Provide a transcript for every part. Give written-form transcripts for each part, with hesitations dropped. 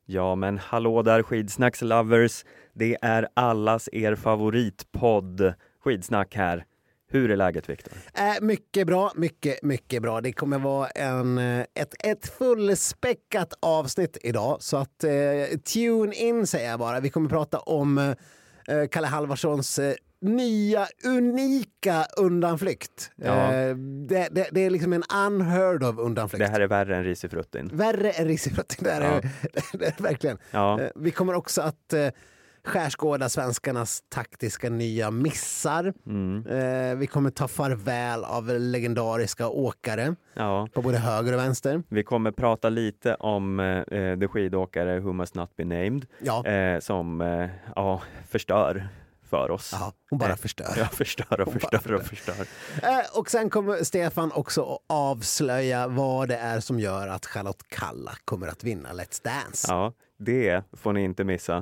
Ja, men hallå där skidsnackslovers. Det är allas er favoritpodd Skidsnack här. Hur är läget, Viktor? Mycket bra, mycket bra. Det kommer vara ett fullspäckat avsnitt idag. Så att tune in säger jag bara. Vi kommer prata om Kalle Halvarssons nya, unika undanflykt. Ja. Det är liksom en unheard of undanflykt. Det här är värre än risifruttin. Värre än risifruttin, det är verkligen. Ja. Vi kommer också att skärskåda svenskarnas taktiska nya missar. Vi kommer ta farväl av legendariska åkare på både höger och vänster. Vi kommer prata lite om the skidåkare who must not be named som förstör för oss. Ja, hon bara förstör. Ja, förstör. Och sen kommer Stefan också att avslöja vad det är som gör att Charlotte Kalla kommer att vinna Let's Dance. Ja, det får ni inte missa.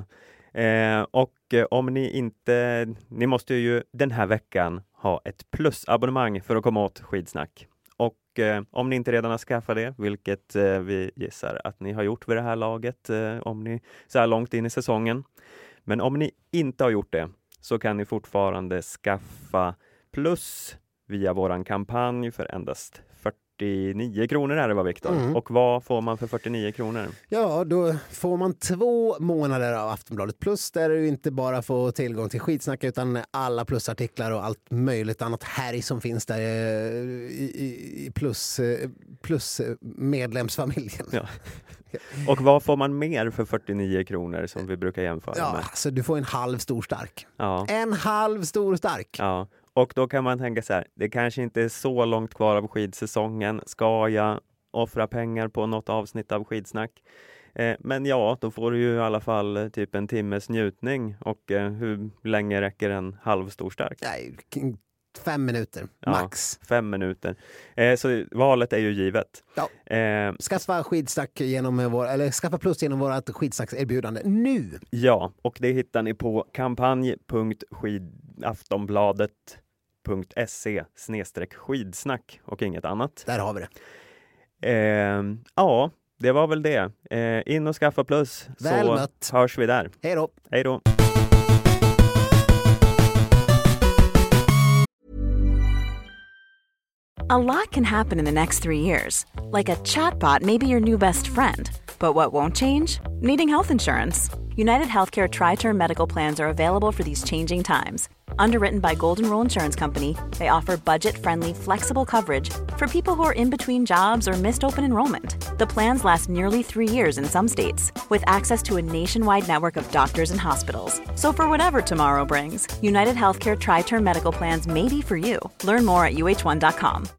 Om ni måste ju den här veckan ha ett plusabonnemang för att komma åt Skidsnack. Och om ni inte redan har skaffat det, vilket vi gissar att ni har gjort vid det här laget om ni så här långt in i säsongen. Men om ni inte har gjort det så kan ni fortfarande skaffa plus via våran kampanj för endast 49 kronor är det, va, Viktor? Och vad får man för 49 kronor? Ja, då får man 2 månader av Aftonbladet Plus där du inte bara får tillgång till Skitsnack utan alla plusartiklar och allt möjligt annat härj som finns där i plus medlemsfamiljen. Ja. Och vad får man mer för 49 kronor som vi brukar jämföra med? Alltså du får en halv stor stark. Ja. En halv stor stark. Ja. Och då kan man tänka så här, det kanske inte är så långt kvar av skidsäsongen. Ska jag offra pengar på något avsnitt av Skidsnack? Men då får du ju i alla fall typ en timmes njutning. Och hur länge räcker en halv stor stark? Nej, 5 minuter, max. 5 minuter. Så valet är ju givet. Ja. Skaffa Skidsnack skaffa plus genom vårt Skidsnackserbjudande nu. Ja, och det hittar ni på kampanj.aftonbladet.se/skidsnack och inget annat. Där har vi det. Det var väl det. In och skaffa plus. Väl så mött. Hörs vi där. Hej då. Hej då. A lot can happen in the next 3 years. Like a chatbot may be your new best friend. But what won't change? Needing health insurance. United Healthcare Tri-Term Medical Plans are available for these changing times. Underwritten by Golden Rule Insurance Company, they offer budget-friendly, flexible coverage for people who are in between jobs or missed open enrollment. The plans last nearly 3 years in some states, with access to a nationwide network of doctors and hospitals. So for whatever tomorrow brings, United Healthcare Tri-Term Medical Plans may be for you. Learn more at uh1.com.